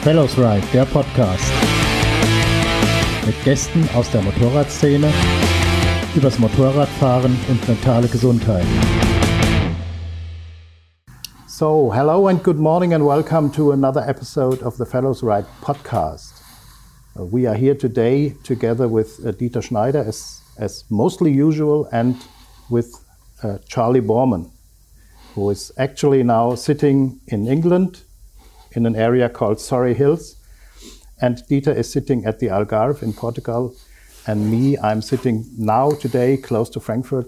Fellows Ride, der Podcast. Mit Gästen aus der Motorradszene übers Motorradfahren und mentale Gesundheit. So, hello and good morning and welcome to another episode of the Fellows Ride podcast. We are here today together with Dieter Schneider as mostly usual and with Charlie Borman, who is actually now sitting in England in an area called Surrey Hills. And Dieter is sitting at the Algarve in Portugal. And me, I'm sitting now today close to Frankfurt.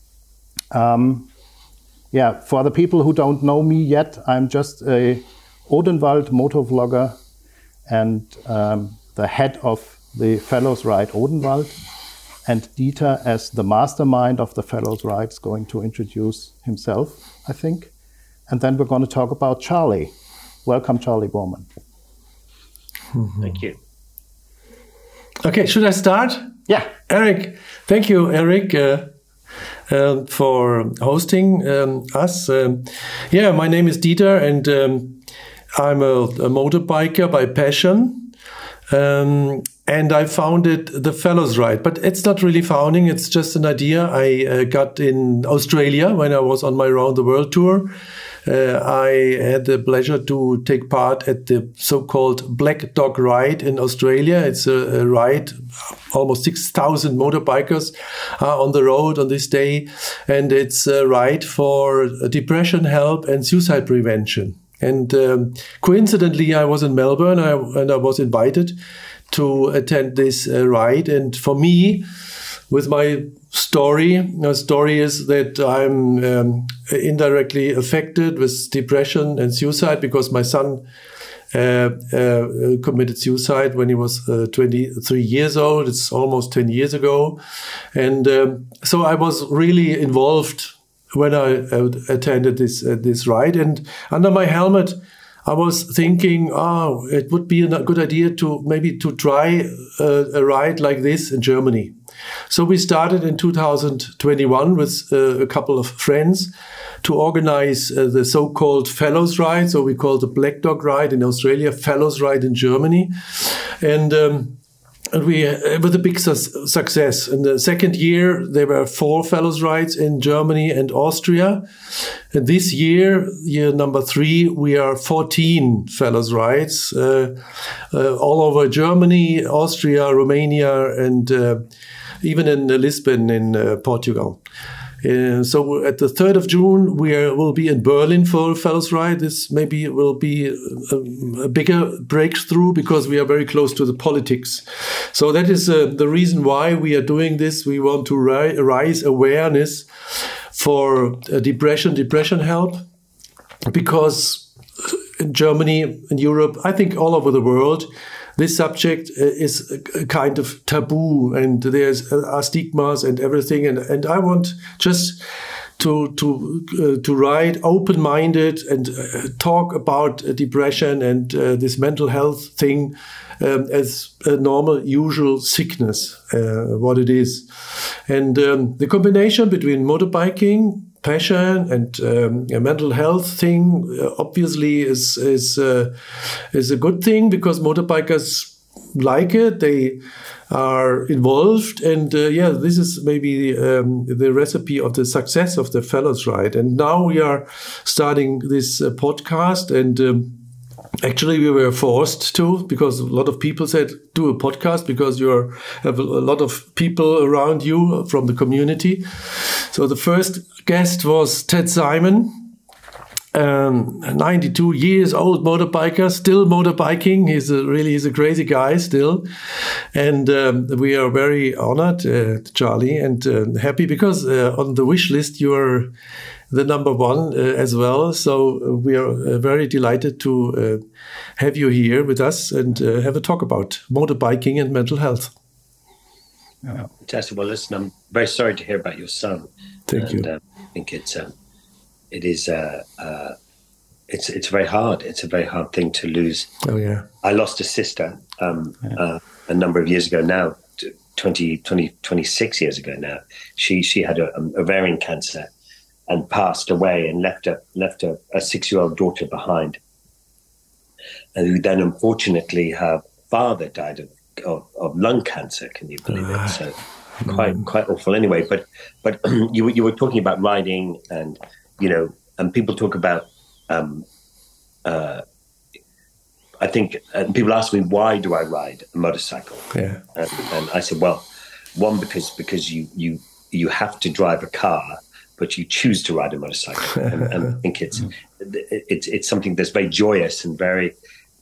For the people who don't know me yet, I'm just a Odenwald motor vlogger and the head of the Fellows Ride Odenwald. And Dieter, as the mastermind of the Fellows Ride, is going to introduce himself, I think. And then we're going to talk about Charlie. Welcome, Charlie Borman. Thank you. Okay, should I start? Yeah. Eric, thank you, Eric, for hosting us. My name is Dieter, and I'm a motorbiker by passion. And I founded the Fellows Ride, but it's not really founding, it's just an idea I got in Australia when I was on my round the world tour. I had the pleasure to take part at the so-called Black Dog Ride in Australia. It's a ride, almost 6,000 motorbikers are on the road on this day. And it's a ride for depression help and suicide prevention. And coincidentally, I was in Melbourne and I was invited to attend this ride. And for me, with my story is that I'm indirectly affected with depression and suicide because my son committed suicide when he was 23 years old. It's almost 10 years ago. And so I was really involved when I attended this ride. And under my helmet, I was thinking, it would be a good idea to try a ride like this in Germany. So we started in 2021 with a couple of friends to organize the so-called Fellows Ride. So we call the Black Dog Ride in Australia, Fellows Ride in Germany. And we with a big success. In the second year, there were 4 Fellows Rides in Germany and Austria. And this year number 3, we are 14 Fellows Rides all over Germany, Austria, Romania, and even in Lisbon in Portugal. So at the 3rd of June, will be in Berlin for Fellows Ride. This maybe will be a bigger breakthrough because we are very close to the politics. So that is the reason why we are doing this. We want to raise awareness for depression help, because in Germany, in Europe, I think all over the world, this subject is a kind of taboo, and there's stigmas and everything. And I want just to write open-minded and talk about depression and this mental health thing as a normal, usual sickness, what it is. And the combination between motorbiking, passion and a mental health thing obviously is a good thing, because motorbikers like it, they are involved, and this is maybe the recipe of the success of the Fellows Ride. And now we are starting this podcast, and actually, we were forced to, because a lot of people said, do a podcast because you have a lot of people around you from the community. So the first guest was Ted Simon, 92 years old motorbiker, still motorbiking. He's a crazy guy still. And we are very honored, Charlie, and happy because on the wish list you are the number 1 as well. So we are very delighted to have you here with us and have a talk about motorbiking and mental health. Fantastic. Well, listen, I'm very sorry to hear about your son. Thank you. I think it's very hard. It's a very hard thing to lose. Oh yeah. I lost a sister a number of years ago now, 26 years ago now. She had ovarian cancer and passed away and left a 6-year-old daughter behind. and who then unfortunately her father died of lung cancer. Can you believe it? So quite awful. Anyway, but you were talking about riding, and and people talk about. I think people ask me, why do I ride a motorcycle? Yeah. And I said, well, one, because you have to drive a car, but you choose to ride a motorcycle, and I think it's something that's very joyous and very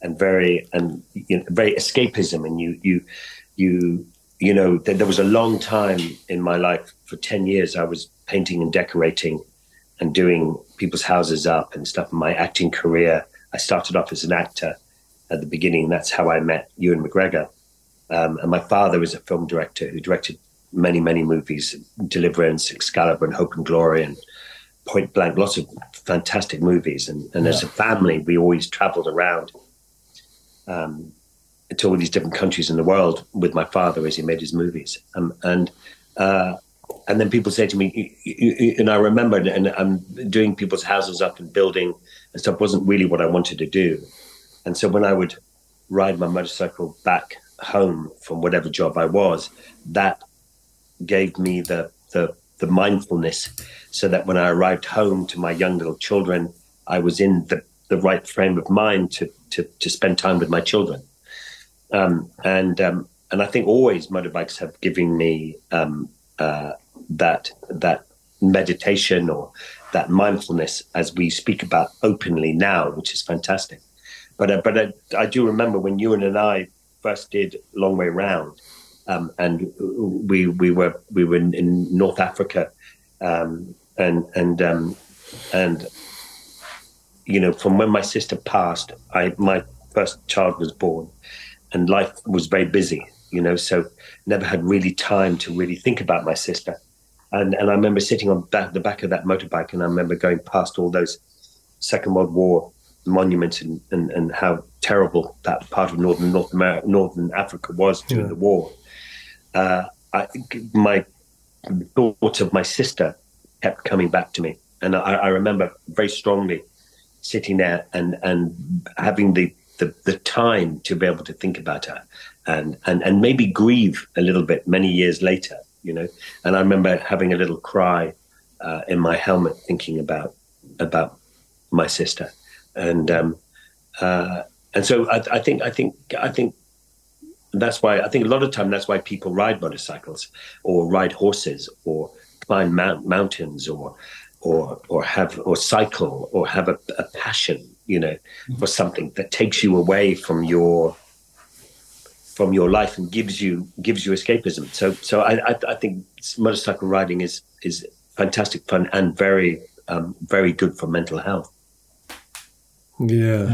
escapism. And there was a long time in my life, for 10 years, I was painting and decorating and doing people's houses up and stuff. In my acting career, I started off as an actor at the beginning. That's how I met Ewan McGregor. And my father was a film director who directed many, many movies, Deliverance, Excalibur, and Hope and Glory, and Point Blank, lots of fantastic movies. And as a family, we always traveled around to all these different countries in the world with my father as he made his movies. And then people say to me, and I remember, and I'm doing people's houses up and building and stuff wasn't really what I wanted to do. And so when I would ride my motorcycle back home from whatever job I was, that gave me the mindfulness, so that when I arrived home to my young little children, I was in the right frame of mind to spend time with my children. And I think always motorbikes have given me that meditation or that mindfulness, as we speak about openly now, which is fantastic. But I do remember when Ewan and I first did Long Way Round, and we were in North Africa, and from when my sister passed, my first child was born, and life was very busy, so never had really time to really think about my sister. And I remember sitting on the back of that motorbike, and I remember going past all those Second World War monuments and how terrible that part of Northern Africa was during the war. My thoughts of my sister kept coming back to me, and I remember very strongly sitting there and having the time to be able to think about her and maybe grieve a little bit many years later, And I remember having a little cry in my helmet, thinking about my sister. And so I think that's why, I think a lot of time that's why people ride motorcycles or ride horses or climb mountains or cycle or have a passion, for something that takes you away from your life and gives you escapism. So I think motorcycle riding is fantastic fun and very very good for mental health. Yeah.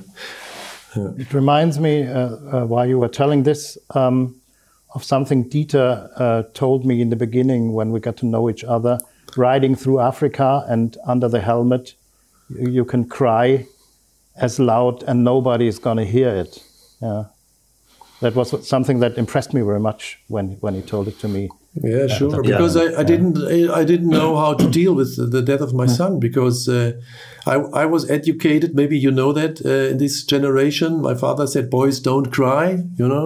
It reminds me, while you were telling this, of something Dieter told me in the beginning when we got to know each other. Riding through Africa, and under the helmet, you can cry as loud and nobody is going to hear it. Yeah. That was something that impressed me very much when he told it to me. Yeah, sure. Because I didn't know how to deal with the death of my son, because I was educated. Maybe you know that in this generation, my father said, "Boys, don't cry,"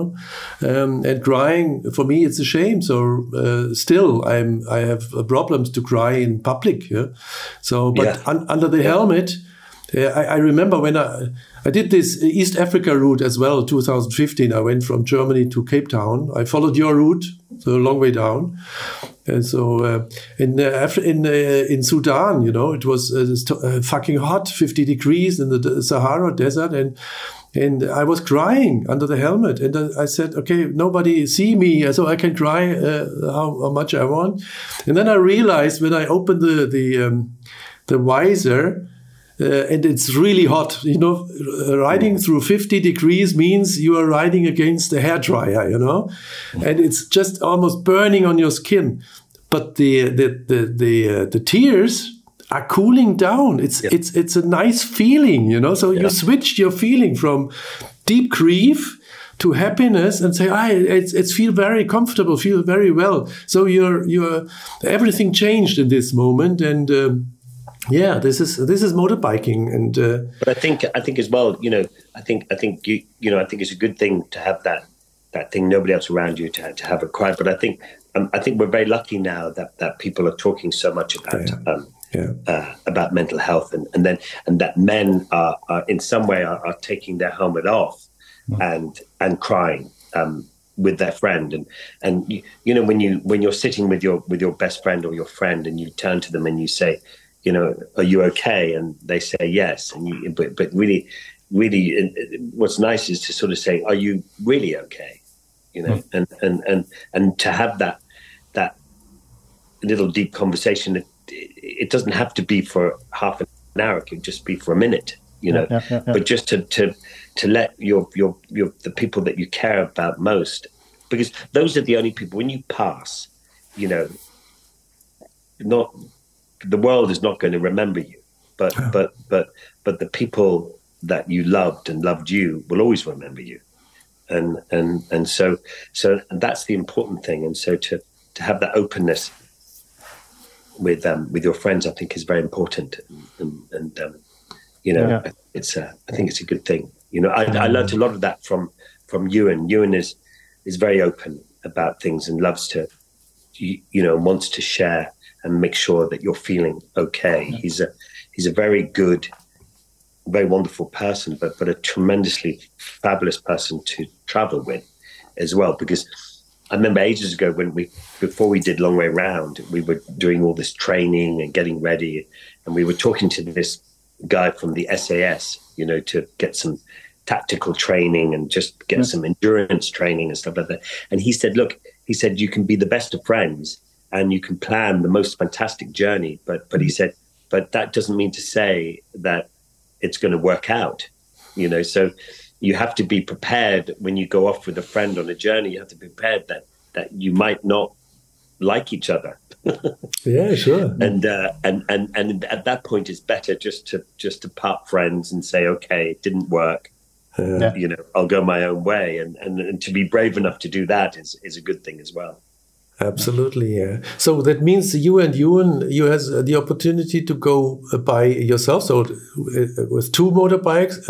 and crying for me it's a shame. So still, I have problems to cry in public. Yeah. So, but under the helmet. I remember when I did this East Africa route as well, 2015. I went from Germany to Cape Town. I followed your route, so a long way down. And so in Sudan, it was fucking hot, 50 degrees in the Sahara Desert. And I was crying under the helmet. And I said, okay, nobody see me, so I can cry how much I want. And then I realized when I opened the visor, and it's really hot, riding through 50 degrees means you are riding against a hairdryer, and it's just almost burning on your skin. But the tears are cooling down. It's a nice feeling, So you switched your feeling from deep grief to happiness and say, it's feel very comfortable, feel very well. So your everything changed in this moment, and Yeah, this is motorbiking, and but I think as well, I think it's a good thing to have that thing, nobody else around you to have a cry. But I think we're very lucky now that people are talking so much about mental health, and that men are in some way are taking their helmet off and crying with their friend, and when you're sitting with your best friend or your friend, and you turn to them and you say, are you okay? And they say yes. And but really, what's nice is to sort of say, are you really okay? And to have that little deep conversation. It doesn't have to be for half an hour. It could just be for a minute. But just to let the people that you care about most, because those are the only people when you pass. Not. The world is not going to remember you, but the people that you loved and loved you will always remember you, and so that's the important thing. And so to have that openness with your friends, I think is very important, and I think it's a good thing. I learned a lot of that from Ewan. Ewan is very open about things and loves to, wants to share and make sure that you're feeling okay. He's a very good, very wonderful person, but a tremendously fabulous person to travel with as well. Because I remember ages ago before we did Long Way Round, we were doing all this training and getting ready, and we were talking to this guy from the SAS, to get some tactical training and just get some endurance training and stuff like that. And he said, look, you can be the best of friends, and you can plan the most fantastic journey, but he said, but that doesn't mean to say that it's going to work out, So you have to be prepared when you go off with a friend on a journey. You have to be prepared that you might not like each other. Yeah, sure. And at that point, it's better just to part friends and say, okay, it didn't work. I'll go my own way, and to be brave enough to do that is a good thing as well. Absolutely, yeah. So that means you has the opportunity to go by yourself. So with two motorbikes,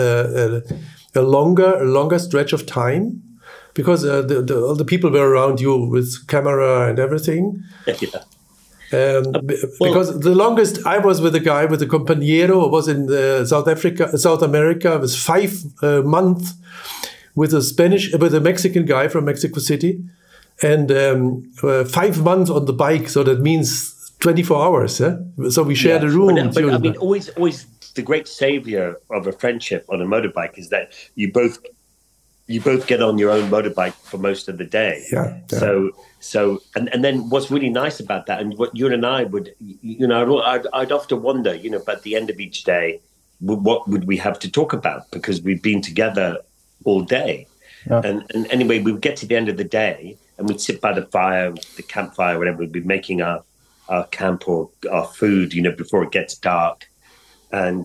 a longer stretch of time, because all the people were around you with camera and everything. Yeah. Because the longest I was with a guy with a compañero was in South America. It was 5 months with a Mexican guy from Mexico City. And 5 months on the bike, so that means 24 hours. Eh? So we shared a room. But always the great savior of a friendship on a motorbike is that you both get on your own motorbike for most of the day. Yeah. So and then what's really nice about that, and what you and I would, I'd often wonder, at the end of each day, what would we have to talk about, because we've been together all day. Yeah. And anyway, we would get to the end of the day and we'd sit by the fire, the campfire, whatever. We'd be making our camp or our food, before it gets dark. And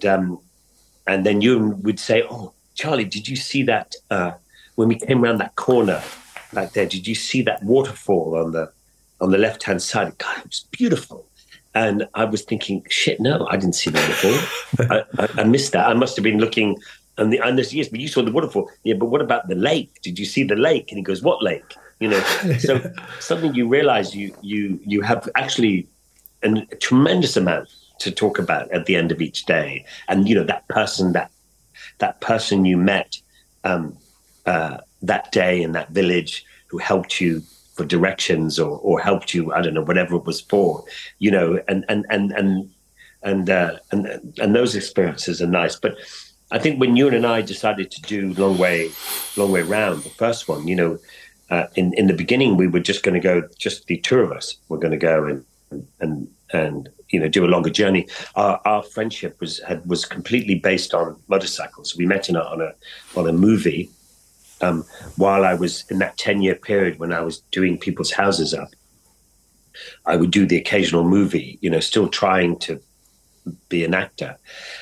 then you would say, "Oh, Charlie, did you see that when we came around that corner back there? Did you see that waterfall on the left-hand side? God, it was beautiful." And I was thinking, "Shit, no, I didn't see the waterfall. I missed that. I must have been looking." And yes, but you saw the waterfall. Yeah, but what about the lake? Did you see the lake? And he goes, "What lake?" So something you realize you have actually a tremendous amount to talk about at the end of each day. And that person you met that day in that village who helped you for directions or helped you, I don't know, whatever it was for, and those experiences are nice. But I think when Ewan and I decided to do Long Way Round, the first one, in the beginning, we were just going to go, just the two of us were going to go and do a longer journey. Our friendship was completely based on motorcycles. We met on a movie while I was in that 10-year period when I was doing people's houses up. I would do the occasional movie, still trying to be an actor,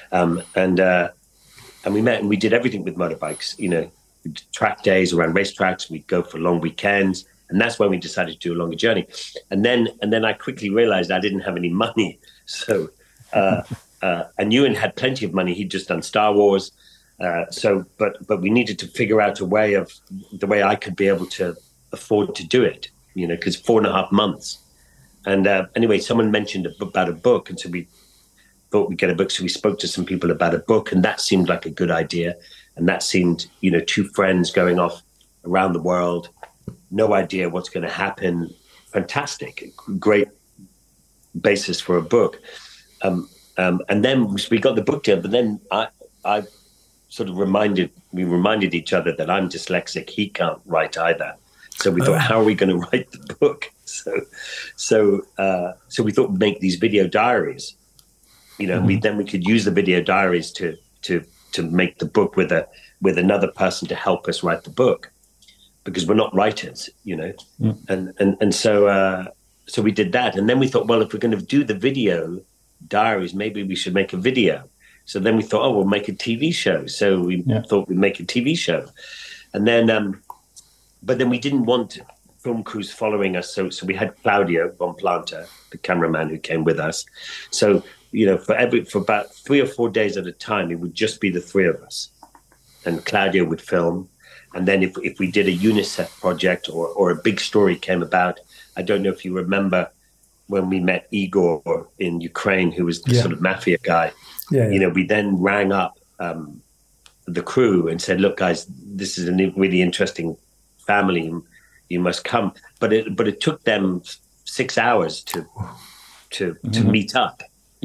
and we met and we did everything with motorbikes, track days around racetracks. We'd go for long weekends. And that's when we decided to do a longer journey. And then I quickly realized I didn't have any money. So and Ewan had plenty of money. He'd just done Star Wars. But we needed to figure out a way of the way I could be able to afford to do it, because 4.5 months. And anyway, someone mentioned about a book. And so we thought we'd get a book. So we spoke to some people about a book, and that seemed like a good idea. And that seemed, two friends going off around the world, no idea what's going to happen. Fantastic, great basis for a book. And then we got the book deal, but then I sort of reminded each other that I'm dyslexic. He can't write either. So we thought, how are we going to write the book? So we thought we'd make these video diaries. Then we could use the video diaries to make the book with another person to help us write the book, because we're not writers, And so we did that. And then we thought, well, if we're going to do the video diaries, maybe we should make a video. So then we thought, we'll make a TV show. So we thought we'd make a TV show. And then, but then we didn't want film crews following us. So we had Claudio Bonplanta, the cameraman who came with us. So, for about 3 or 4 days at a time, it would just be the three of us. And Claudio would film. And then if we did a UNICEF project or a big story came about, I don't know if you remember when we met Igor in Ukraine, who was the sort of mafia guy. We then rang up the crew and said, look, guys, this is a really interesting family. You must come. But it took them 6 hours to meet up,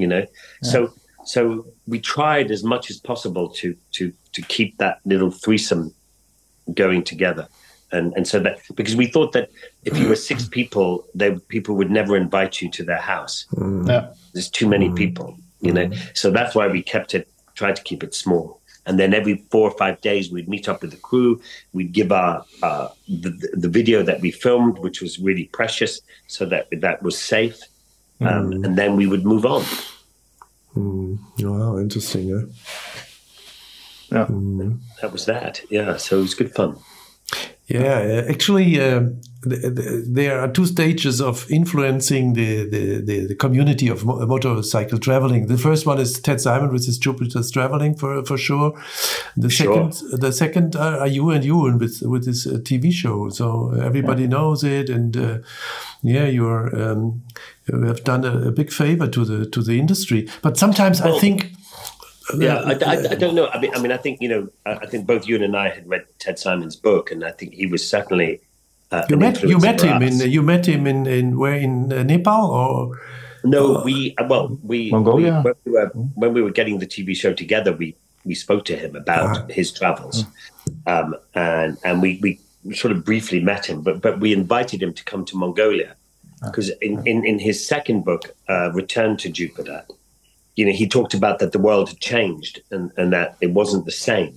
So we tried as much as possible to keep that little threesome going together. And so that, because we thought that if you were 6 people, people would never invite you to their house. There's too many people, So that's why we tried to keep it small. And then every 4 or 5 days, we'd meet up with the crew. We'd give the video that we filmed, which was really precious, so that was safe. And then we would move on. Wow, interesting. Yeah. That was that. Yeah, so it was good fun. Yeah, actually, there are 2 stages of influencing the community of motorcycle traveling. The first one is Ted Simon with his Jupiter's Traveling for sure. The second are you and Ewan with this TV show. So everybody knows it, and you have done a big favor to the industry. But sometimes I think. I don't know. I mean, I think I think both Ewan and I had read Ted Simon's book, and I think he was certainly. You met him in where in Nepal or? No, Mongolia. When we were getting the TV show together, we spoke to him about his travels, and we sort of briefly met him, but we invited him to come to Mongolia because in his second book, Return to Jupiter. He talked about that the world had changed and that it wasn't the same,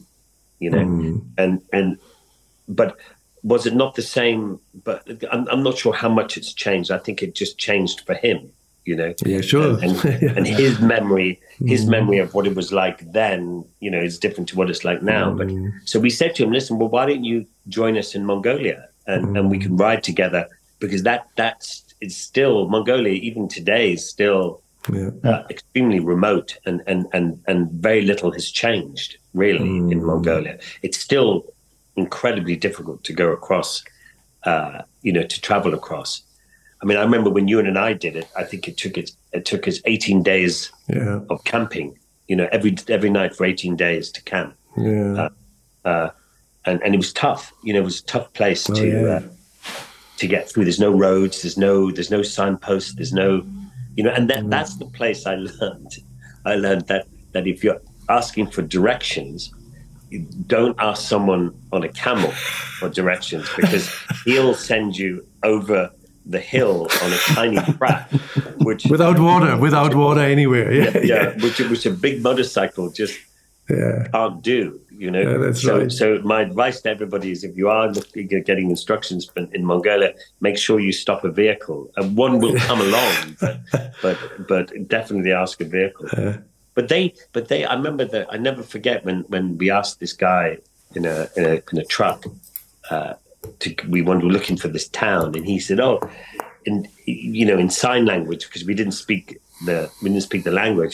but was it not the same? But I'm not sure how much it's changed. I think it just changed for him, Yeah, sure. And his memory of what it was like then, is different to what it's like now. But so we said to him, listen, well, why don't you join us in Mongolia and we can ride together, because it's still Mongolia, even today, is still. Extremely remote and very little has changed really in Mongolia. It's still incredibly difficult to go across, to travel across. I mean, I remember when Ewan and I did it, I think it took us 18 days of camping, every night for 18 days to camp. And it was tough, it was a tough place to get through. There's no roads, there's no signposts, there's no, and that's the place I learned that if you're asking for directions, you don't ask someone on a camel for directions, because he'll send you over the hill on a tiny track, which without water anywhere. Which a big motorcycle just can't do. That's right. So my advice to everybody is, if you are getting instructions in Mongolia, make sure you stop a vehicle, and one will come along, but definitely ask a vehicle. But they. I remember that. I never forget when we asked this guy in a truck. We were looking for this town, and he said, in sign language, because we didn't speak the language.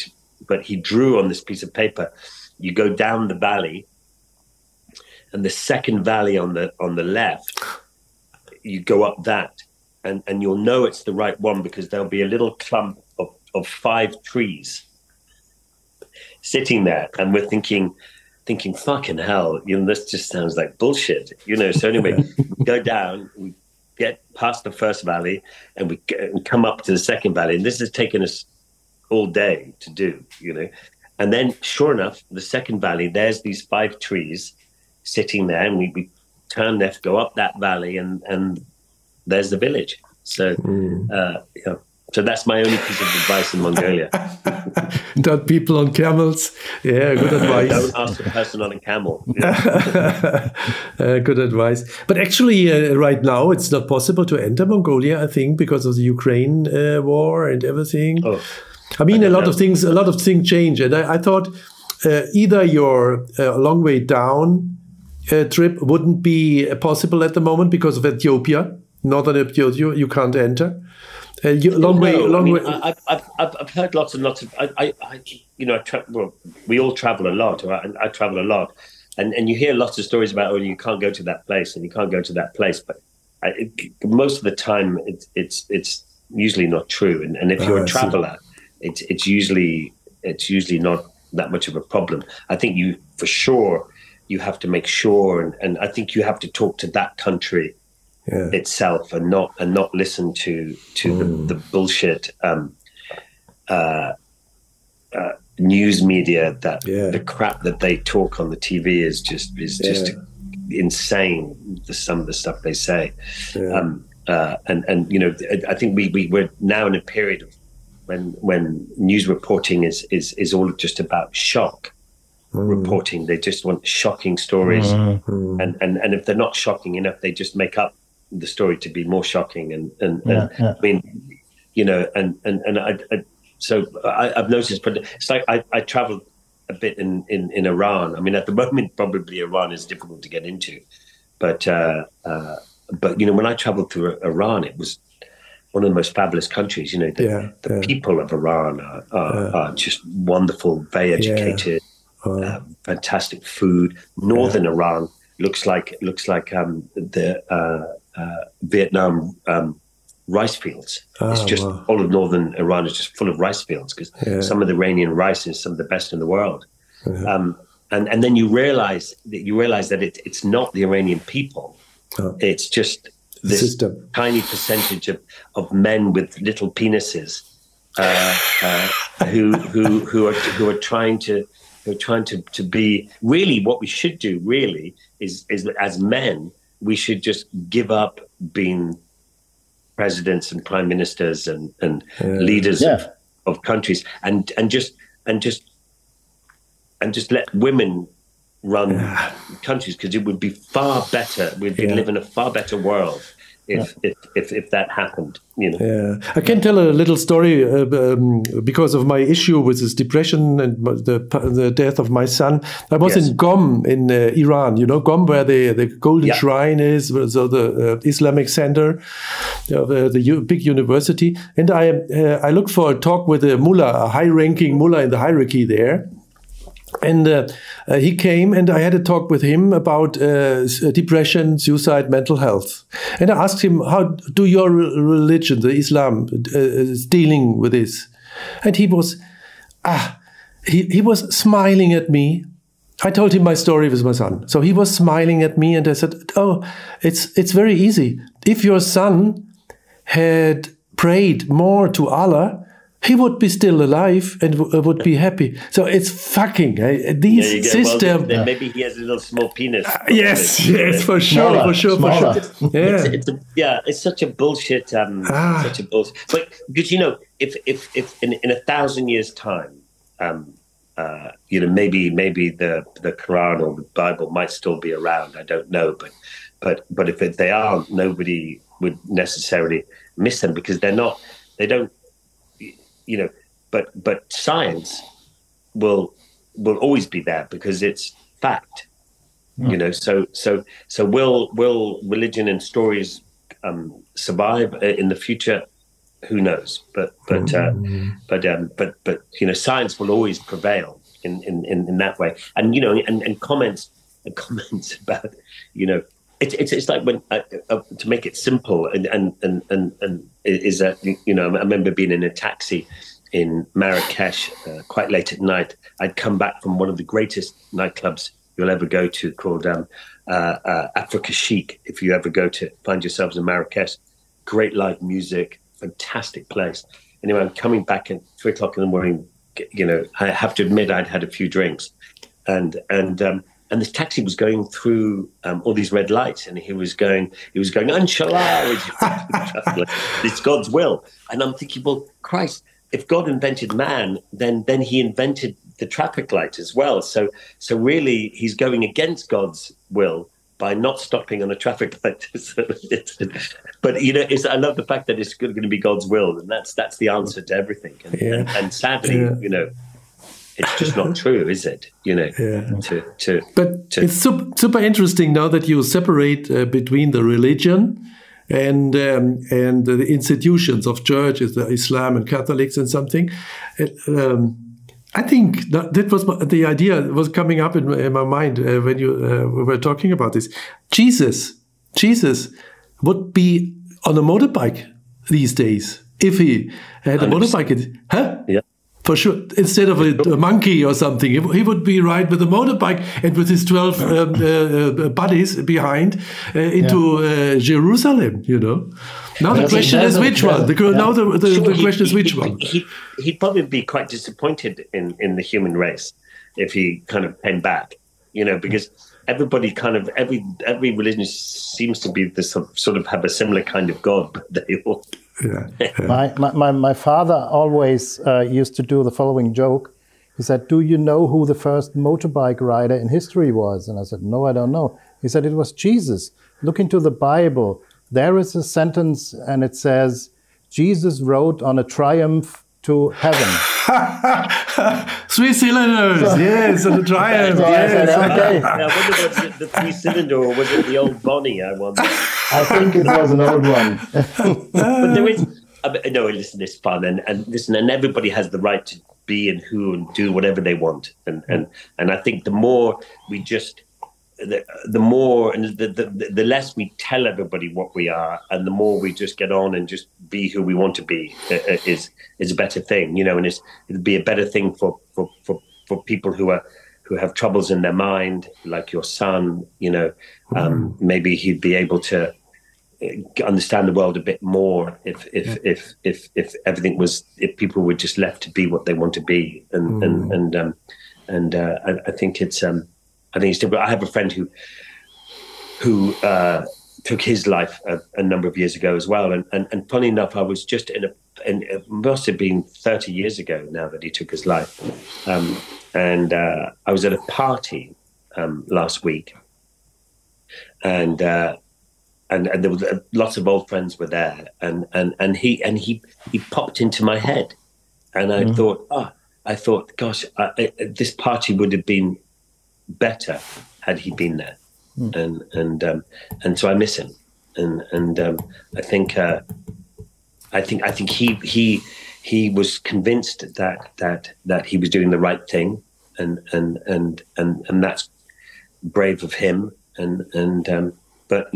but he drew on this piece of paper. You go down the valley, and the second valley on the left, you go up that, and you'll know it's the right one because there'll be a little clump of 5 trees sitting there, and we're thinking, fucking hell, this just sounds like bullshit, So anyway, we go down, we get past the first valley, and we come up to the second valley, and this has taken us all day to do, And then, sure enough, the second valley, there's these 5 trees sitting there, and we turn left, go up that valley, and there's the village. So, So that's my only piece of advice in Mongolia. Not people on camels. Yeah, good advice. Don't ask a person on a camel. Good advice. But actually, right now, it's not possible to enter Mongolia, I think, because of the Ukraine war and everything. Oh, I mean, a lot of things change. And I thought either your long way down trip wouldn't be possible at the moment because of Ethiopia, northern Ethiopia, you can't enter. Long way. I've heard lots and lots of. We all travel a lot. Or I travel a lot, and you hear lots of stories about you can't go to that place and you can't go to that place. But most of the time, it's usually not true. And if you're a traveler, it's usually not that much of a problem. I think you have to make sure, and I think you have to talk to that country. Yeah. Itself and not listen to the bullshit news media that the crap that they talk on the TV is just insane. Some of the stuff they say, and I think we're now in a period of when news reporting is all just about shock. Reporting, they just want shocking stories, and if they're not shocking enough, they just make up the story to be more shocking, and I mean, so I've noticed, but it's like I traveled a bit in Iran. I mean, at the moment, probably Iran is difficult to get into, but when I traveled through Iran, it was one of the most fabulous countries. The people of Iran are just wonderful, very educated, fantastic food. Northern Iran looks like the Vietnam rice fields. It's just all of northern Iran is just full of rice fields because some of the Iranian rice is some of the best in the world. And then you realize that it's not the Iranian people. It's just this tiny percentage of men with little penises who are trying to be. Really, what we should do really is as men, we should just give up being presidents and prime ministers and leaders of countries and just let women run countries, because it would be far better. We'd live in a far better world if that happened. I can tell a little story because of my issue with this depression and the death of my son. I was in Qom in Iran. Qom, where the Golden Shrine is, so the Islamic center, the big university. And I looked for a talk with a mullah, a high-ranking mullah in the hierarchy there. And he came, and I had a talk with him about depression, suicide, mental health. And I asked him, how do your religion, the Islam, is dealing with this? And he was smiling at me. I told him my story with my son. So he was smiling at me, and I said, oh, it's very easy. If your son had prayed more to Allah, he would be still alive and would be happy. So it's fucking these systems. Well, maybe he has a little small penis. Yes, for sure. It's such a bullshit. Such a bullshit. But because if in 1,000 years' time, maybe the Quran or the Bible might still be around. I don't know, but if they aren't, nobody would necessarily miss them because they're not. They don't. But science will always be there because it's fact. So will religion and stories survive in the future? who knows? But science will always prevail in that way. And and comments about it's like when to make it simple and is that I remember being in a taxi in Marrakesh quite late at night. I'd come back from one of the greatest nightclubs you'll ever go to, called Africa Chic. If you ever find yourselves in Marrakesh, great live music, fantastic place. Anyway, I'm coming back at 3:00 in the morning. I have to admit I'd had a few drinks, and this taxi was going through all these red lights, and he was going, Inshallah, it's God's will. And I'm thinking, well, Christ, if God invented man, then he invented the traffic light as well. So really, he's going against God's will by not stopping on a traffic light. But I love the fact that it's going to be God's will, and that's the answer to everything. And sadly, it's just not true, is it? But it's super interesting now that you separate between the religion and the institutions of churches, the Islam and Catholics and something. I think that was the idea was coming up in my mind when you were talking about this. Jesus would be on a motorbike these days if he had a motorbike. Huh? Yeah. For sure, instead of a monkey or something, he would be ride with a motorbike and with his 12 buddies behind into Jerusalem. Now the question is which one. Now the question is which one. He'd probably be quite disappointed in the human race if he kind of came back. Because everybody every religion seems to be this sort of have a similar kind of God, but they all. Yeah. My father always used to do the following joke. He said, "Do you know who the first motorbike rider in history was?" And I said, "No, I don't know." He said, "It was Jesus. Look into the Bible. There is a sentence and it says, Jesus rode on a Triumph to heaven." 3 cylinders, yes, on a Triumph. Yes. Okay. Now, whether was it the 3-cylinder or was it the old Bonnie? I wonder. I think it was an old one. But there is listen, it's fun, and listen, and everybody has the right to be and who and do whatever they want, and I think the more we just. The more and the less we tell everybody what we are, and the more we just get on and just be who we want to be is a better thing, and it'd be a better thing for people who have troubles in their mind, like your son. Maybe he'd be able to understand the world a bit more if everything was, if people were just left to be what they want to be, and I think it's. I think it's different. I have a friend who took his life a number of years ago as well. And funny enough, I was just it must have been 30 years ago now that he took his life. I was at a party last week, and there was lots of old friends were there, and he popped into my head, and I thought, gosh, this party would have been better had he been there, and so I miss him, and I think he was convinced that he was doing the right thing, and that's brave of him, but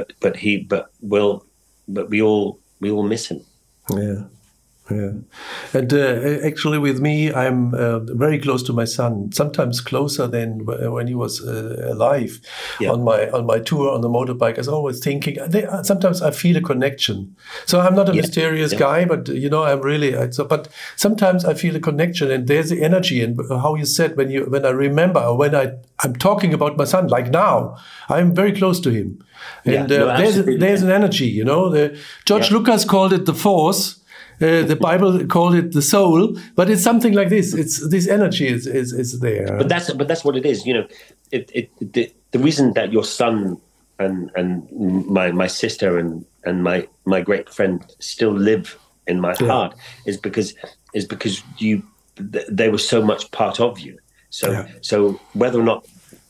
we all miss him. Yeah. Yeah, and actually, with me, I'm very close to my son. Sometimes closer than when he was alive. Yeah. On my tour on the motorbike, I was always thinking. Sometimes I feel a connection. So I'm not a mysterious guy, but I'm really. But sometimes I feel a connection, and there's the energy. And how you said when I remember, or when I'm talking about my son, like now, I'm very close to him, and there's an energy. George Lucas called it the force. The Bible called it the soul, but it's something like this. It's this energy is there. But that's what it is. The reason that your son and my sister and my great friend still live in my heart is because they were so much part of you. So whether or not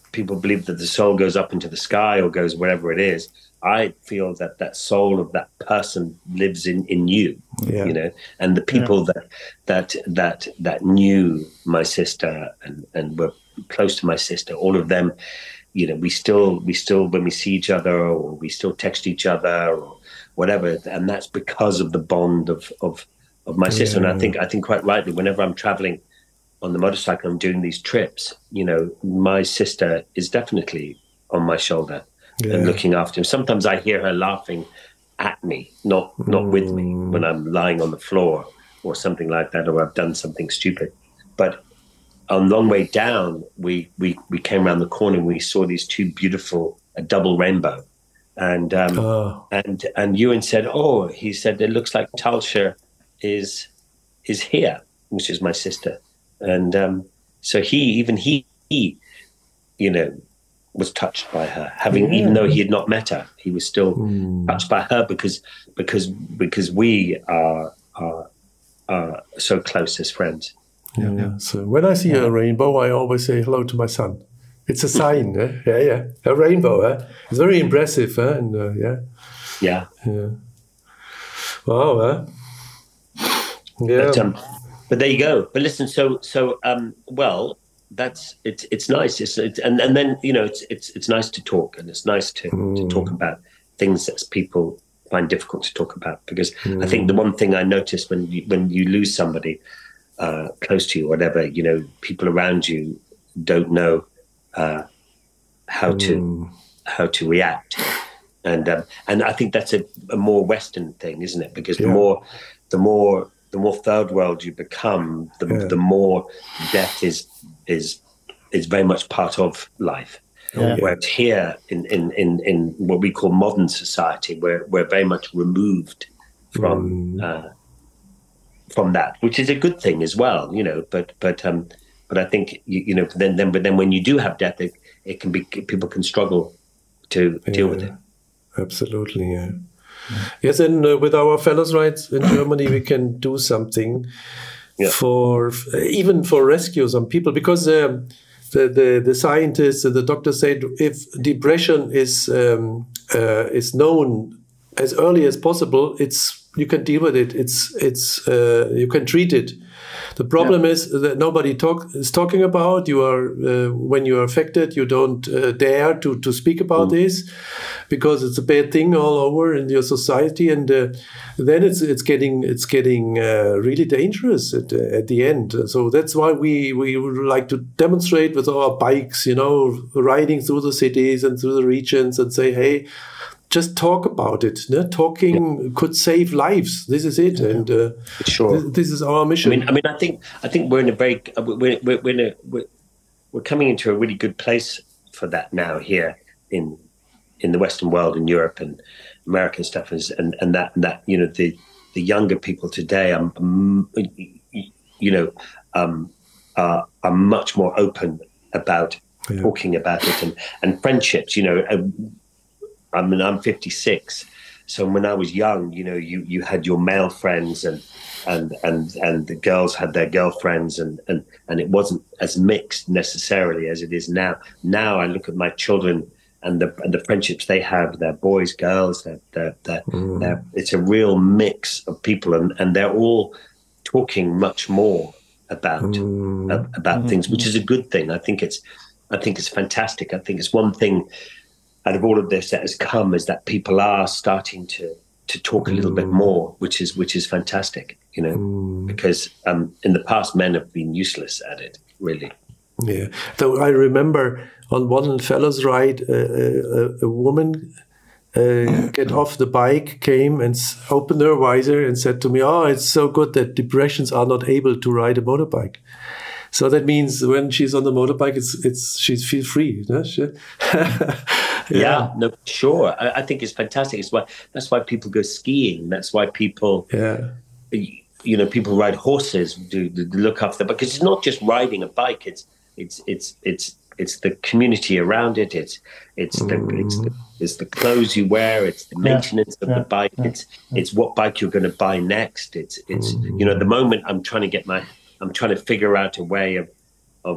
people believe that the soul goes up into the sky or goes wherever it is. I feel that that soul of that person lives in you, you know, and the people that knew my sister and were close to my sister, all of them, you know, we still when we see each other or we still text each other or whatever, and that's because of the bond of my sister. And I think quite rightly, whenever I'm traveling on the motorcycle, I'm doing these trips, you know, my sister is definitely on my shoulder. And looking after him. Sometimes I hear her laughing at me, not with me, when I'm lying on the floor or something like that, or I've done something stupid. But on the long way down, we came around the corner and we saw these two beautiful, a double rainbow. And Ewan said, he said, it looks like Talsha is here, which is my sister. And so he, you know, was touched by her, even though he had not met her, he was still touched by her because we are so close as friends. So when I see a rainbow, I always say hello to my son. It's a sign. A rainbow. It's very impressive. And wow. But there you go. But listen, well, that's it's nice. And then, you know, it's nice to talk, and it's nice to talk about things that people find difficult to talk about, because I think the one thing I noticed when you lose somebody close to you, whatever, you know, people around you don't know how to react, and I think that's a more Western thing, isn't it? Because the more third world you become, the more death is very much part of life. Whereas here in what we call modern society, we're very much removed from that, which is a good thing as well, you know. But I think you know then when you do have death, it can be, people can struggle to deal with it. Absolutely, yeah. Yes, and with our Fellows Rides in Germany, we can do something for rescue some people, because the scientists and the doctors said if depression is known as early as possible, you can deal with it. You can treat it. The problem is that nobody is talking about. You are when you are affected, you don't dare to speak about this, because it's a bad thing all over in your society, and then it's getting really dangerous at the end. So that's why we would like to demonstrate with our bikes, you know, riding through the cities and through the regions, and say, hey, just talk about it. No? Talking could save lives. This is it, and this is our mission. I mean, I think we're in a very we're coming into a really good place for that now here in the Western world, in Europe and America and stuff, and that you know the younger people today are much more open about talking about it, and friendships, you know. I mean, I'm 56, so when I was young, you know, you had your male friends and the girls had their girlfriends, and it wasn't as mixed necessarily as it is now. Now I look at my children and the friendships they have, they're boys, girls, it's a real mix of people, and they're all talking much more about things, which is a good thing. I think it's fantastic. I think it's one thing out of all of this that has come, is that people are starting to talk a little bit more, which is fantastic, you know, because in the past men have been useless at it, really. Yeah, though I remember on one Fellows Ride, a woman get off the bike, came and opened her visor and said to me, "Oh, it's so good that depressions are not able to ride a motorbike." So that means when she's on the motorbike, she feels free. No? Yeah, no, sure. I think it's fantastic. That's why people go skiing. That's why people, you know, people ride horses, do look after, because it's not just riding a bike. It's the community around it. It's the clothes you wear. It's the maintenance of the bike. It's what bike you're going to buy next. It's you know, at the moment I'm trying to figure out a way of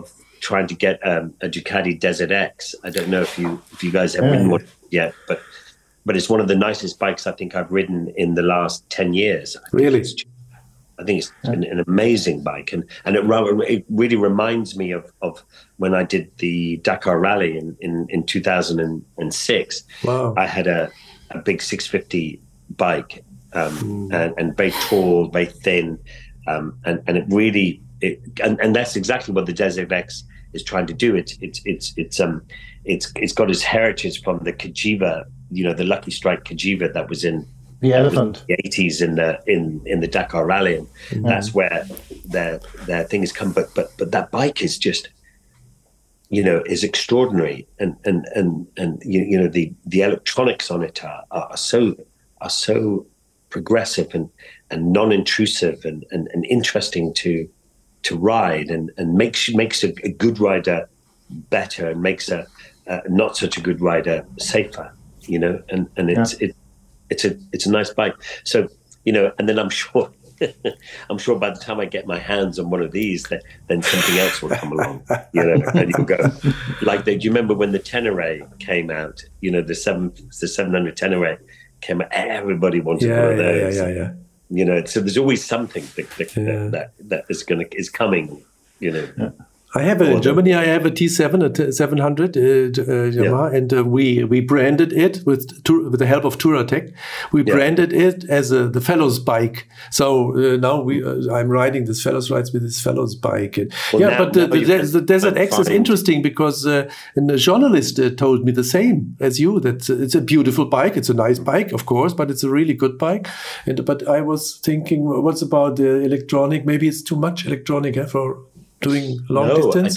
trying to get a Ducati Desert X. I don't know if you guys have ridden one yet, but it's one of the nicest bikes I think I've ridden in the last 10 years. I think it's an amazing bike, and it really reminds me of when I did the Dakar Rally in 2006. Wow. I had a big 650 bike, and very tall, very thin, and it really and that's exactly what the Desert X is trying to do. It's got its heritage from the Cagiva, the Lucky Strike Cagiva that was in the elephant the 80s in the Dakar Rally, and that's where their thing has come. But that bike is just is extraordinary, and the electronics on it are so progressive and non-intrusive and interesting to ride, and makes a good rider better, and makes a not such a good rider safer, and it's a nice bike. So and then I'm sure by the time I get my hands on one of these, then something else will come along, and you'll go like do you remember when the Tenere came out? The 700 Tenere came out, everybody wanted one of those. So there's always something that is coming. I have in Germany. I have a T7, a 700 Yamaha, and we branded it with the help of Touratech. We branded it as the Fellows bike. So now I'm riding this Fellows rides with this Fellows bike. But the Desert X is interesting because a journalist told me the same as you, that it's a beautiful bike. It's a nice bike, of course, but it's a really good bike. But I was thinking, what's about the electronic? Maybe it's too much electronic for doing long distance?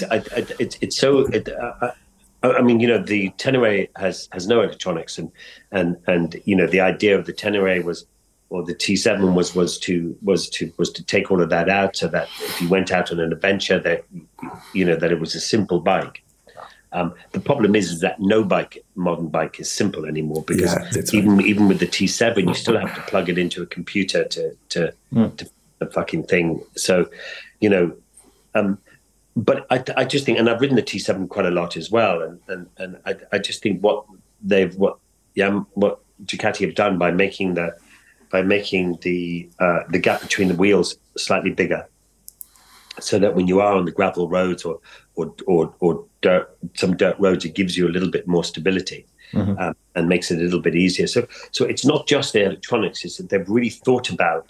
I mean, the Tenere has no electronics, and the idea of the Tenere or the T7 was to take all of that out, so that if you went out on an adventure, that it was a simple bike. The problem is that no modern bike is simple anymore, because even with the T7, you still have to plug it into a computer to the fucking thing. So, but I just think, and I've ridden the T7 quite a lot as well, and I just think what Ducati have done by making the gap between the wheels slightly bigger, so that when you are on the gravel roads or some dirt roads, it gives you a little bit more stability, and makes it a little bit easier. So it's not just the electronics; it's that they've really thought about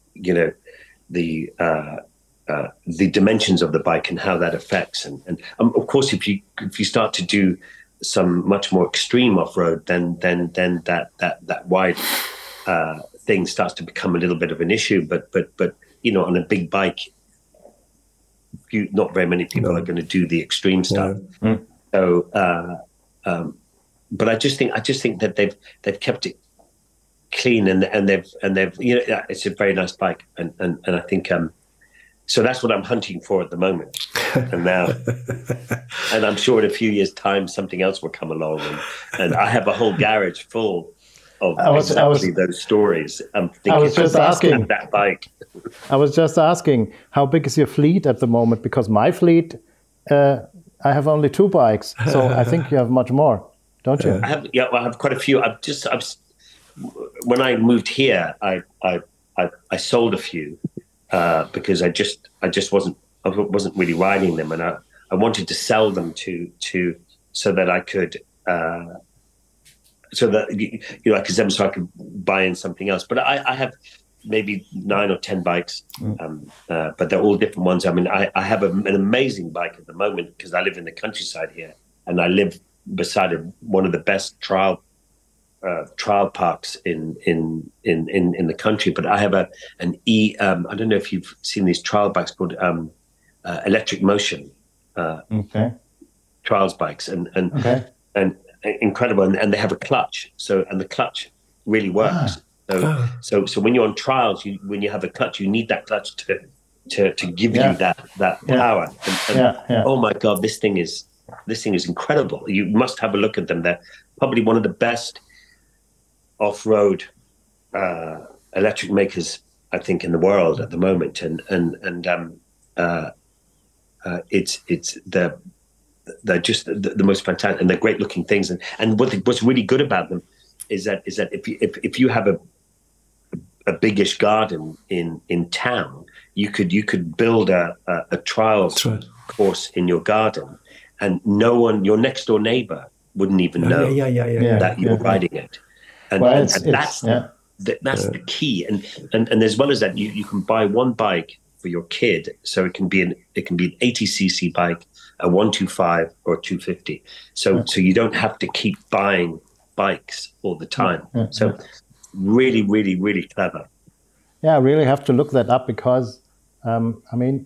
the dimensions of the bike and how that affects, and of course, if you start to do some much more extreme off-road, then that wide thing starts to become a little bit of an issue. But on a big bike, not very many people are going to do the extreme stuff. So, but I just think that they've kept it clean, and they've it's a very nice bike, and I think so that's what I'm hunting for at the moment. And now, and I'm sure in a few years' time something else will come along, and I have a whole garage full of those stories. I'm thinking, I was just asking that bike. I was just asking, how big is your fleet at the moment? Because my fleet, I have only 2 bikes, so I think you have much more, don't you? I have quite a few. When I moved here, I sold a few because I just wasn't really riding them, and I wanted to sell them so that I could. So that I could sell them, so I could buy in something else. But I have maybe 9 or 10 bikes, but they're all different ones. I mean, I have an amazing bike at the moment because I live in the countryside here, and I live beside one of the best trial parks in the country. But I have an I don't know if you've seen these trial bikes called Electric Motion trials bikes, and incredible, and they have a clutch. And the clutch really works. So when you're on trials, when you have a clutch, you need that clutch to give you that power. And oh my God, this thing is incredible. You must have a look at them. They're probably one of the best off-road electric makers, I think, in the world at the moment. And they're just the most fantastic, and they're great looking things. And what's really good about them is that if you have a biggish garden in town, you could build a trials course in your garden, and your next door neighbor wouldn't even know that you're riding it. And, well, that's the key. And as well as that, you can buy one bike for your kid, so it can be an 80cc bike, a 125 or a 250. So you don't have to keep buying bikes all the time. So really, really, really clever. Yeah, I really have to look that up because, I mean,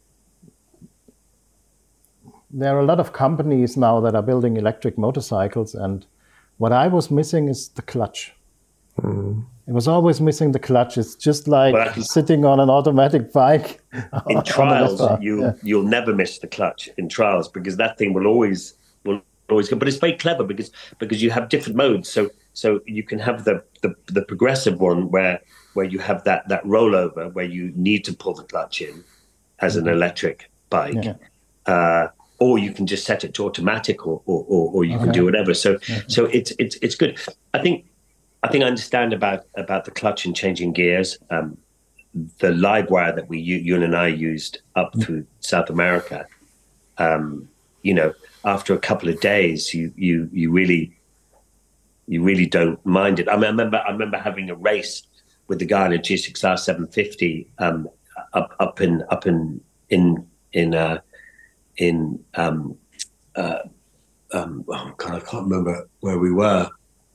there are a lot of companies now that are building electric motorcycles, and what I was missing is the clutch. It was always missing the clutch. It's just like sitting on an automatic bike. In trials, you'll never miss the clutch in trials, because that thing will always go. But it's very clever because you have different modes. So you can have the progressive one where you have that rollover where you need to pull the clutch in as an electric bike. Or you can just set it to automatic, or you can do whatever. So it's good. I think I understand about the clutch and changing gears. The live wire that you and I used up through South America. After a couple of days, you really don't mind it. I mean, I remember having a race with the guy in a G6R 750 up in I can't remember where we were.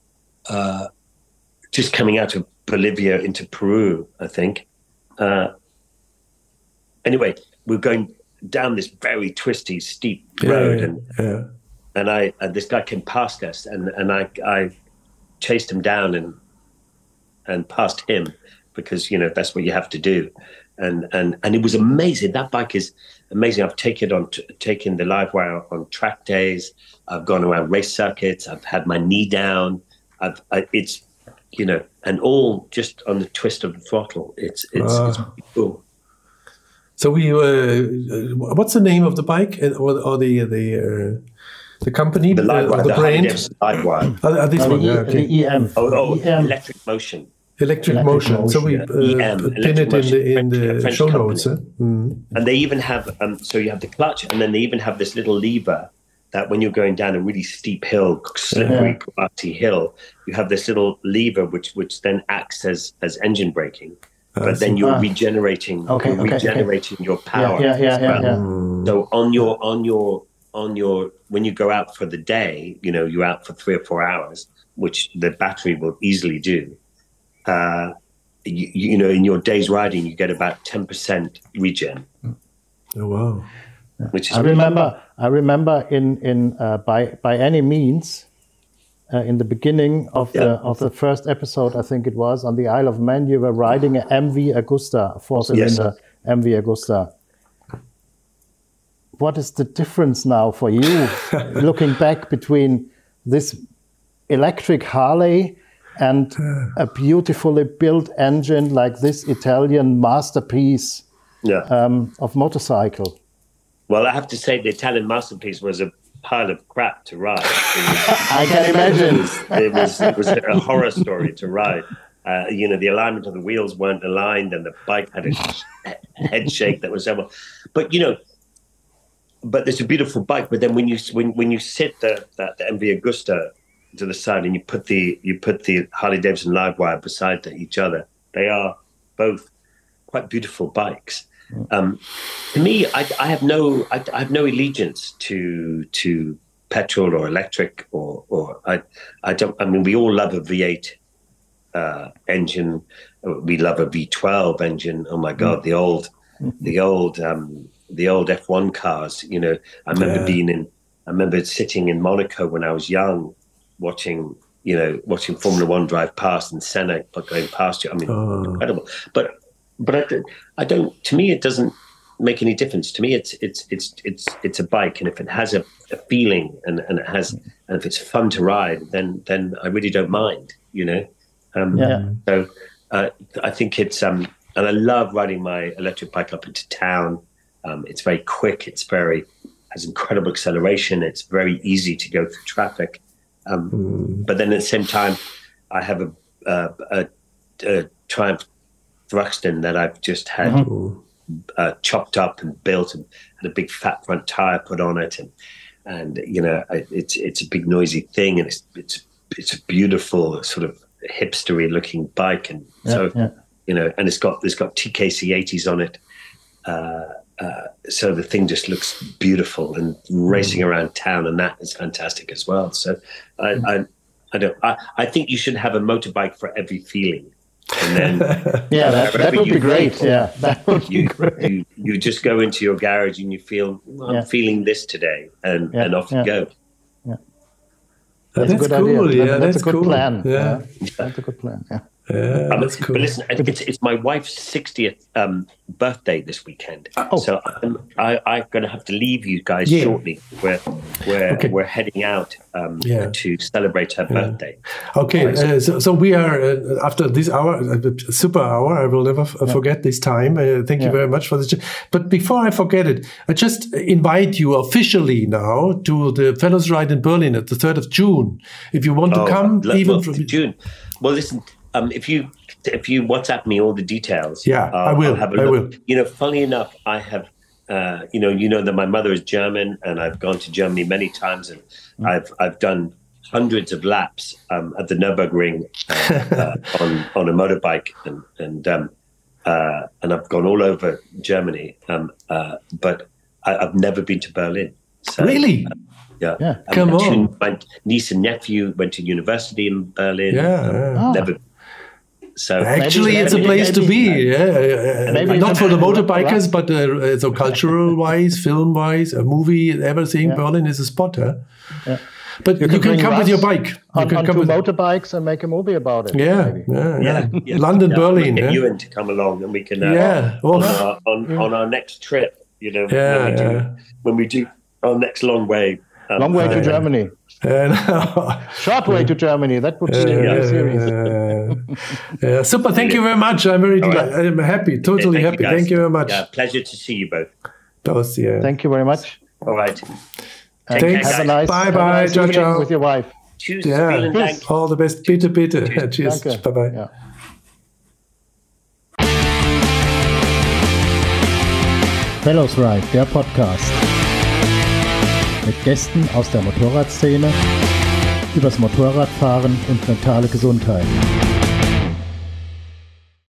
Just coming out of Bolivia into Peru, I think. Anyway, we're going down this very twisty, steep road, and this guy came past us, and I chased him down and passed him, because that's what you have to do. And it was amazing. That bike is amazing. I've taken the live wire on track days. I've gone around race circuits. I've had my knee down. It's and all just on the twist of the throttle. It's pretty cool. So what's the name of the bike or the company, the brand? This one, the EM. EM. Electric Motion. Electric Motion. So we pin it in the show notes. And they even have so you have the clutch, and then they even have this little lever that when you're going down a really steep hill, slippery, grassy hill, you have this little lever which then acts as engine braking. But then you're regenerating your power. So on your when you go out for the day, you're out for 3 or 4 hours, which the battery will easily do. In your day's riding, you get about 10% regen. Oh wow! Which is I remember in by any means in the beginning of the first episode, I think it was, on the Isle of Man, you were riding an MV Agusta, 4-cylinder MV Agusta. What is the difference now for you, looking back, between this electric Harley and a beautifully built engine like this Italian masterpiece of motorcycle? Well, I have to say the Italian masterpiece was a pile of crap to ride. I can imagine. It was a horror story to ride. The alignment of the wheels weren't aligned, and the bike had a head shake that was terrible. But but it's a beautiful bike. But then when you sit the MV Agusta to the side and you put the Harley Davidson live wire beside each other, they are both quite beautiful bikes. To me, I have no allegiance to petrol or electric or I don't. I mean, we all love a V8 engine. We love a V12 engine. Oh my God, the old F1 cars. I remember sitting in Monaco when I was young, watching Formula One drive past and Senna going past you. I mean, incredible. But I don't. To me, it doesn't make any difference. To me, it's a bike, and if it has a feeling and if it's fun to ride, then I really don't mind. So I think it's and I love riding my electric bike up into town. It's very quick. Has incredible acceleration. It's very easy to go through traffic. But then at the same time, I have a Triumph Thruxton that I've just had chopped up and built, and had a big fat front tire put on it, and it's a big noisy thing, and it's a beautiful sort of hipstery looking bike, and and it's got TKC 80s on it. So the thing just looks beautiful, and racing around town, and that is fantastic as well. So I think you should have a motorbike for every feeling. And then that would be great. Yeah, that would be great. You just go into your garage and you feel, I'm feeling this today, and off you go. Yeah. That's a good cool. idea. That's a good cool. plan. Yeah. That's a good plan. Yeah. Yeah, that's cool. But listen, it's my wife's 60th birthday this weekend, so I'm going to have to leave you guys shortly. We're heading out to celebrate her birthday. Okay, so we are after this hour, super hour. I will never forget this time. Thank you very much for this. But before I forget it, I just invite you officially now to the Fellows Ride in Berlin at the 3rd of June. If you want to come, even from June. Well, listen. If you WhatsApp me all the details, I will. I'll have a look. Funnily enough, I have, that my mother is German, and I've gone to Germany many times, and I've done hundreds of laps at the Nürburgring on a motorbike, and I've gone all over Germany, but I've never been to Berlin. So, really? Yeah. Come on. My niece and nephew went to university in Berlin. Never. So actually, it's a place to be. Not for the motorbikers, but so cultural-wise, film-wise, a movie, everything. Berlin is a spot. Yeah. But you can come with your bike. You can come with motorbikes and make a movie about it. Yeah. London, Berlin. We'll get you in to come along, and we can on our next trip. When we do our next long way. Long way to Germany. Short way to Germany. That would be serious. Super. Thank you very much. I'm I'm happy. Totally happy. Thank you very much. Pleasure to see you both. Thank you very much. All right. Thanks. Have a nice Bye. Ciao. with your wife. Tschüss. All the best. Bitte. Cheers. Bye. Ja. Fellows Ride, der Podcast. Mit Gästen aus der Motorradszene, übers Motorradfahren und mentale Gesundheit.